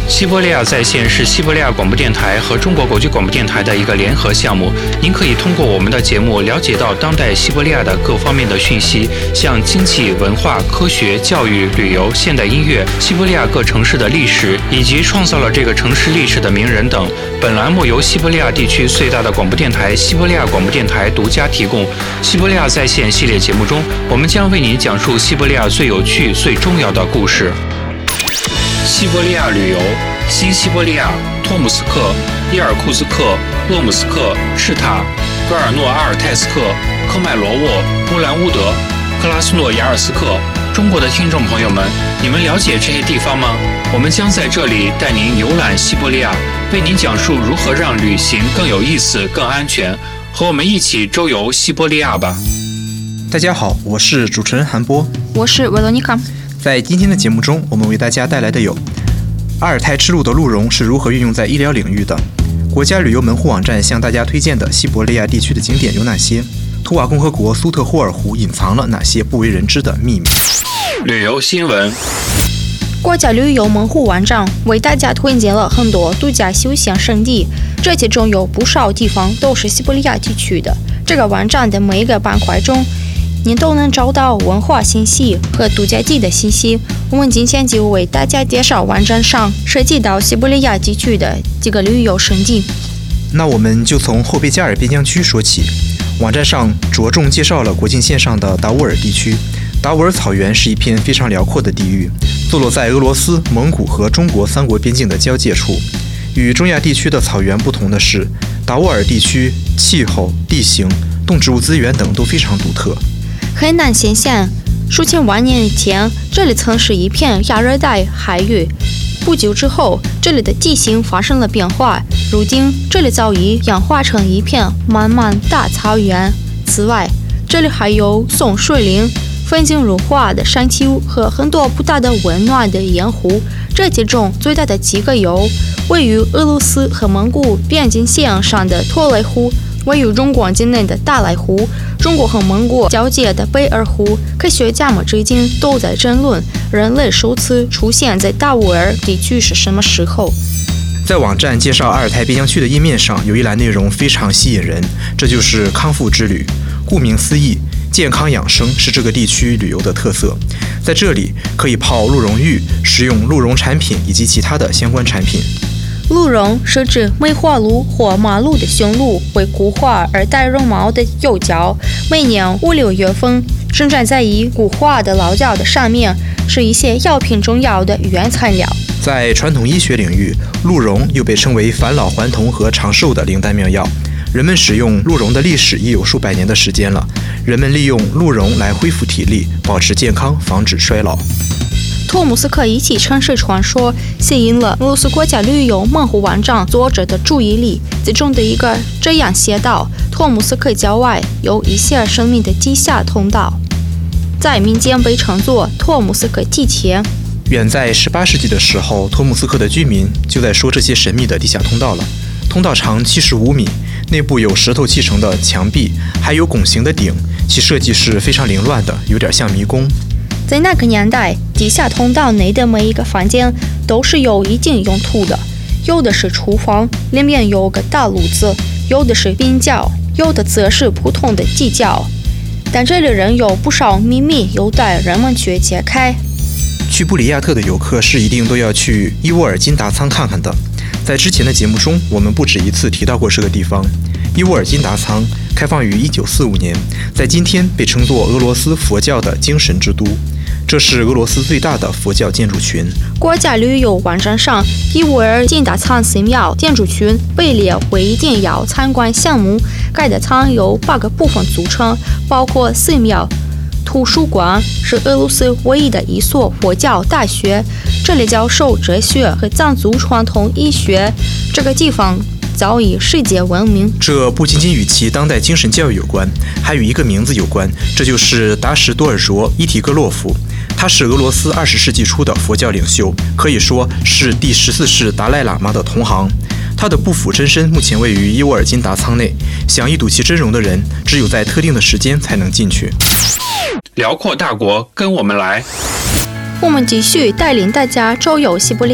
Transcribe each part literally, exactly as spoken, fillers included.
西伯利亚在线是西伯利亚广播电台和中国国际广播电台的一个联合项目。您可以通过我们的节目了解到当代西伯利亚的各方面的讯息，像经济、文化、科学、教育、旅游、现代音乐、西伯利亚各城市的历史，以及创造了这个城市历史的名人等。本栏目由西伯利亚地区最大的广播电台西伯利亚广播电台独家提供。西伯利亚在线系列节目中，我们将为您讲述西伯利亚最有趣、最重要的故事。西伯利亚旅游：新西伯利亚、托姆斯克、伊尔库茨克、鄂姆斯克、赤塔、戈尔诺阿尔泰斯克、科迈罗沃、乌兰乌德、克拉斯诺亚尔斯克。中国的听众朋友们，你们了解这些地方吗？我们将在这里带您游览西伯利亚，为您讲述如何让旅行更有意思、更安全。和我们一起周游西伯利亚吧！ 大家好，我是主持人韩波， 我是维罗妮卡。 在今天的节目中，我们为大家带来的有阿尔泰之路的鹿茸是如何运用在医疗领域的，国家旅游门户网站向大家推荐的西伯利亚地区的景点有哪些，图瓦共和国苏特霍尔湖隐藏了哪些不为人知的秘密。 旅游新闻： 国家旅游门户网站为大家推荐了很多度假休闲胜地，这其中有不少地方都是西伯利亚地区的。这个网站的每一个板块中，您都能找到文化信息和度假地的信息。我们今天就为大家介绍网站上涉及到西伯利亚地区的几个旅游胜地。 那我们就从后贝加尔边疆区说起。网站上着重介绍了国境线上的达斡尔地区。达斡尔草原是一片非常辽阔的地域，坐落在俄罗斯、蒙古和中国三国边境的交界处。与中亚地区的草原不同的是，达斡尔地区气候、地形、动植物资源等都非常独特。 很难想象，数千万年前，这里曾是一片亚热带海域。不久之后，这里的地形发生了变化，如今这里早已氧化成一片漫漫大草原。此外，这里还有松树林、风景如画的山丘和很多不大的温暖的盐湖。这其中最大的几个有位于俄罗斯和蒙古边境线上的托雷湖，位于中国境内的大莱湖，中国和蒙古交界的贝尔湖。科学家们至今都在争论人类首次出现在达斡尔地区是什么时候。 在网站介绍阿尔泰边疆区的页面上，有一栏内容非常吸引人，这就是康复之旅。顾名思义，健康养生是这个地区旅游的特色。在这里可以泡鹿茸浴，食用鹿茸产品以及其他的相关产品。 鹿茸是指梅花鹿或马鹿的雄鹿，会固化而带绒毛的幼角，每年五六月份生长在已固化的老角的上面，是一些药品中药的原材料。 在传统医学领域，鹿茸又被称为返老还童和长寿的灵丹妙药。人们使用鹿茸的历史已有数百年的时间了。人们利用鹿茸来恢复体力，保持健康，防止衰老。 托姆斯克一起城市传说吸引了俄罗斯国家旅游门户网站作者的注意力，其中的一个这样写道：托姆斯克郊外有一些神秘的地下通道，在民间被称作托姆斯克地铁。 远在十八世纪的时候，托姆斯克的居民就在说这些神秘的地下通道了。通道长七十五米，内部有石头砌成的墙壁，还有拱形的顶，其设计是非常凌乱的，有点像迷宫。 在那个年代，地下通道内的每一个房间都是有一定用途的，有的是厨房，里面有个大炉子；有的是冰窖，有的则是普通的地窖。但这里仍有不少秘密有待人们去揭开。 去布里亚特的游客是一定都要去伊沃尔金达仓看看的。在之前的节目中，我们不止一次提到过这个地方。伊沃尔金达仓开放于一九四五年，在今天被称作俄罗斯佛教的精神之都。这是俄罗斯最大的佛教建筑群。 国家旅游网站上，伊沃尔金达仓寺庙建筑群被列为一定要参观项目。该的仓由八个部分组成，包括寺庙、图书馆，是俄罗斯唯一的一所佛教大学，这里教授哲学和藏族传统医学。这个地方早已世界闻名。 这不仅仅与其当代精神教育有关，还与一个名字有关，这就是达什多尔卓伊提格洛夫。他是俄罗斯二十世纪初的佛教领袖，可以说是第十四世达赖喇嘛的同行。他的不腐真身目前位于伊沃尔金达仓内，想一睹其真容的人，只有在特定的时间才能进去。 辽阔大国，跟我们来。 我们继续带领大家周游西伯利亚。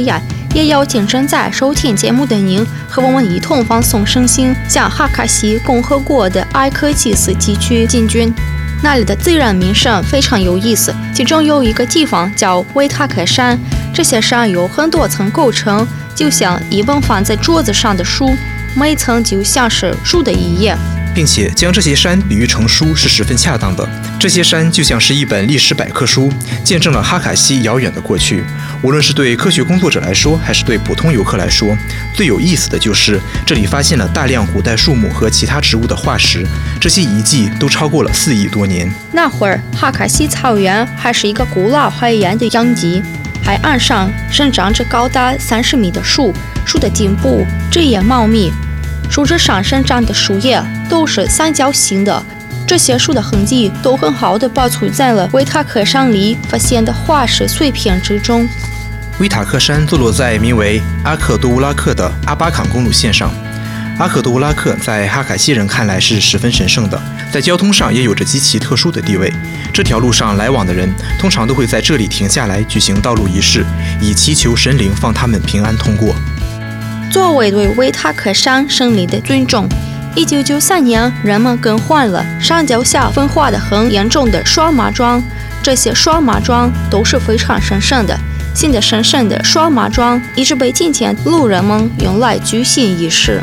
也邀请正在收听节目的您和我们一同放送声音，向哈卡西共和国的埃科基斯地区进军。那里的自然名胜非常有意思，其中有一个地方叫维塔克山，这些山有很多层构成，就像一本放在桌子上的书，每层就像是书的一页， 并且将这些山比喻成书是十分恰当的。这些山就像是一本历史百科书，见证了哈卡西遥远的过去。无论是对科学工作者来说，还是对普通游客来说，最有意思的就是这里发现了大量古代树木和其他植物的化石，这些遗迹都超过了四亿多年。 那会儿，哈卡西草原还是一个古老海盐的养殖，海岸上生长着高达三十米的树，树的顶部枝叶茂密，树枝上生长的树叶都是三角形的，这些树的痕迹都很好地保存在了维塔克山里发现的化石碎片之中。 维塔克山坐落在名为阿克多乌拉克的阿巴坎公路线上。阿克多乌拉克在哈卡西人看来是十分神圣的，在交通上也有着极其特殊的地位。这条路上来往的人通常都会在这里停下来举行道路仪式，以祈求神灵放他们平安通过。 作为对维塔克山神灵的尊重，一九九三年人们更换了山脚下分化的很严重的双麻桩，这些双麻桩都是非常神圣的。新的神圣的双麻桩一直被今天路人们用来举行仪式。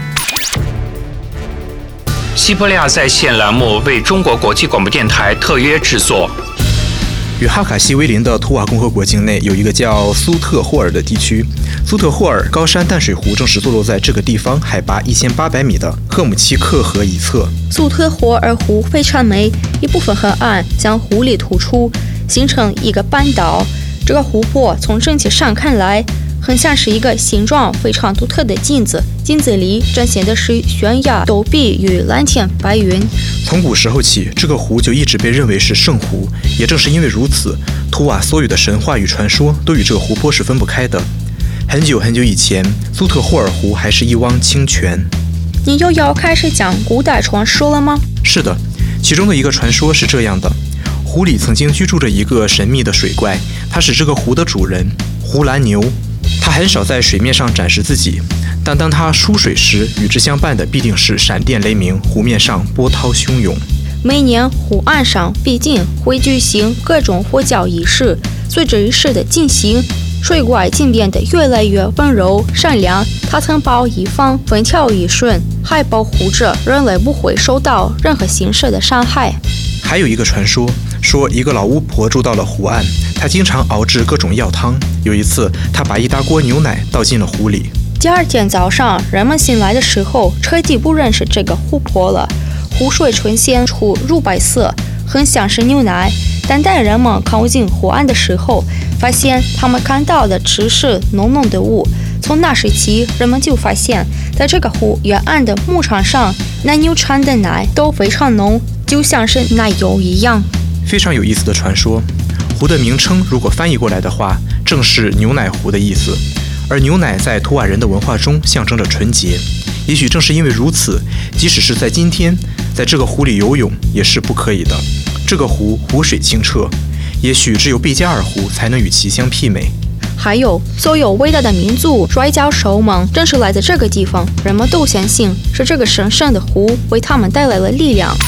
西伯利亚在线栏目为中国国际广播电台特约制作。 与哈卡西为邻的图瓦共和国境内有一个叫苏特霍尔的地区，苏特霍尔高山淡水湖正是坐落在这个地方海拔一千八百米的赫姆奇克河一侧。 苏特霍尔湖非常美，一部分河岸向湖里突出，形成一个半岛。这个湖泊从整体上看来，很像是一个形状非常独特的镜子，镜子里展现的是悬崖陡壁与蓝天白云。 从古时候起，这个湖就一直被认为是圣湖，也正是因为如此，图瓦所有的神话与传说都与这个湖泊是分不开的。很久很久以前，苏特霍尔湖还是一汪清泉。 你又要开始讲古代传说了吗？ 是的，其中的一个传说是这样的：湖里曾经居住着一个神秘的水怪，他是这个湖的主人湖蓝牛。他很少在水面上展示自己，但当他出水时，与之相伴的必定是闪电雷鸣，湖面上波涛汹涌。 每年湖岸上必定会举行各种佛教仪式，随着仪式的进行，水怪竟变得越来越温柔善良。他曾保一方，风调雨顺，还保护着人类不会受到任何形式的伤害。 还有一个传说，说一个老巫婆住到了湖岸，她经常熬制各种药汤。有一次，她把一大锅牛奶倒进了湖里。 第二天早上，人们醒来的时候，彻底不认识这个湖泊了。湖水呈现出乳白色，很像是牛奶。但当人们靠近湖岸的时候，发现他们看到的只是浓浓的雾。从那时起，人们就发现，在这个湖沿岸的牧场上，奶牛产的奶都非常浓，就像是奶油一样。 非常有意思的传说。湖的名称如果翻译过来的话，正是牛奶湖的意思。而牛奶在图瓦人的文化中象征着纯洁。也许正是因为如此，即使是在今天，在这个湖里游泳也是不可以的。这个湖湖水清澈，也许只有贝加尔湖才能与其相媲美。 还有，所有伟大的民族摔跤手们正是来自这个地方，人们都相信是这个神圣的湖为他们带来了力量。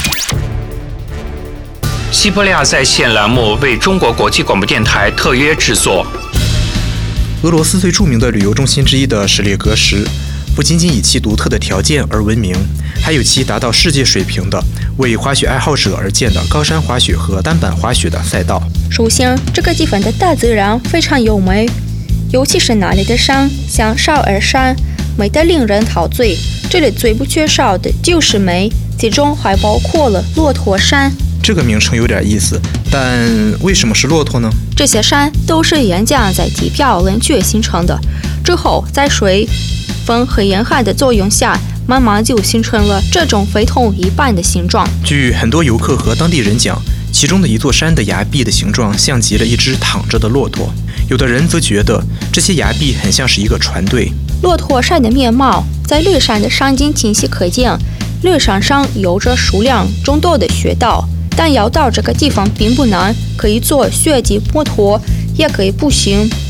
西伯利亚在线栏目为中国国际广播电台特约制作。 俄罗斯最著名的旅游中心之一的什列格什，不仅仅以其独特的条件而闻名，还有其达到世界水平的为滑雪爱好者而建的高山滑雪和单板滑雪的赛道。 首先，这个地方的大自然非常优美，尤其是那里的山，像少儿山，美得令人陶醉。这里最不缺少的就是美，其中还包括了骆驼山。 这个名称有点意思，但为什么是骆驼呢？ 这些山都是岩浆在地表冷却形成的，之后在水、风和严寒的作用下，慢慢就形成了这种非同一般的形状。 据很多游客和当地人讲，其中的一座山的崖壁的形状像极了一只躺着的骆驼，有的人则觉得这些崖壁很像是一个船队。 骆驼山的面貌在绿山的山顶清晰可见，绿山上有着数量众多的雪道，但要到这个地方并不难，可以坐雪地摩托，也可以步行。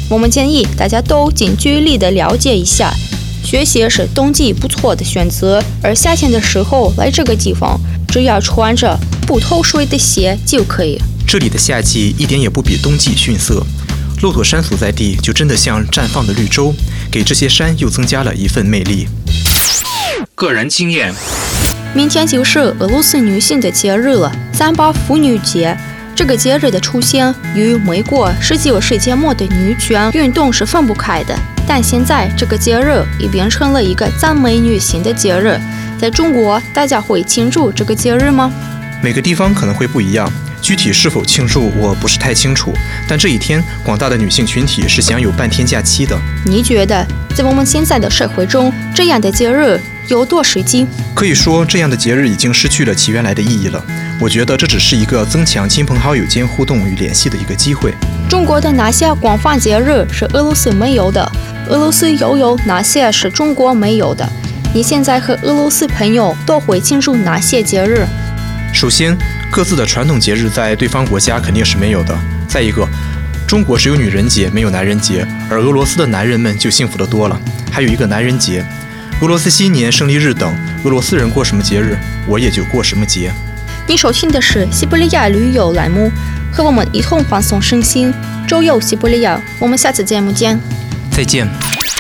我们建议大家都近距离的了解一下。雪鞋是冬季不错的选择，而夏天的时候来这个地方，只要穿着不透水的鞋就可以。 这里的夏季一点也不比冬季逊色，骆驼山所在地就真的像绽放的绿洲，给这些山又增加了一份魅力。 个人经验， 明天就是俄罗斯女性的节日了，三八妇女节。这个节日的出现与美国十九世纪末的女权运动是分不开的，但现在这个节日已变成了一个赞美女性的节日。在中国，大家会庆祝这个节日吗？ 每个地方可能会不一样，具体是否庆祝我不是太清楚，但这一天广大的女性群体是享有半天假期的。 你觉得在我们现在的社会中，这样的节日有多实际？ 可以说，这样的节日已经失去了其原来的意义了。我觉得这只是一个增强亲朋好友间互动与联系的一个机会。 中国的哪些广泛节日是俄罗斯没有的？俄罗斯又有哪些是中国没有的？你现在和俄罗斯朋友都会庆祝哪些节日？ 首先，各自的传统节日在对方国家肯定是没有的。再一个，中国只有女人节，没有男人节，而俄罗斯的男人们就幸福得多了，还有一个男人节。俄罗斯新年、胜利日等，俄罗斯人过什么节日，我也就过什么节。 你收听的是西伯利亚旅游栏目，和我们一同放松身心，周游西伯利亚。我们下次节目见。 再见。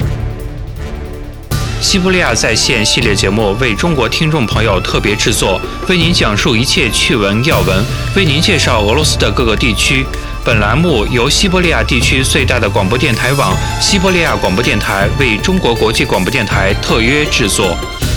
西伯利亚在线系列节目为中国听众朋友特别制作，为您讲述一切趣闻要闻，为您介绍俄罗斯的各个地区。本栏目由西伯利亚地区最大的广播电台网西伯利亚广播电台为中国国际广播电台特约制作。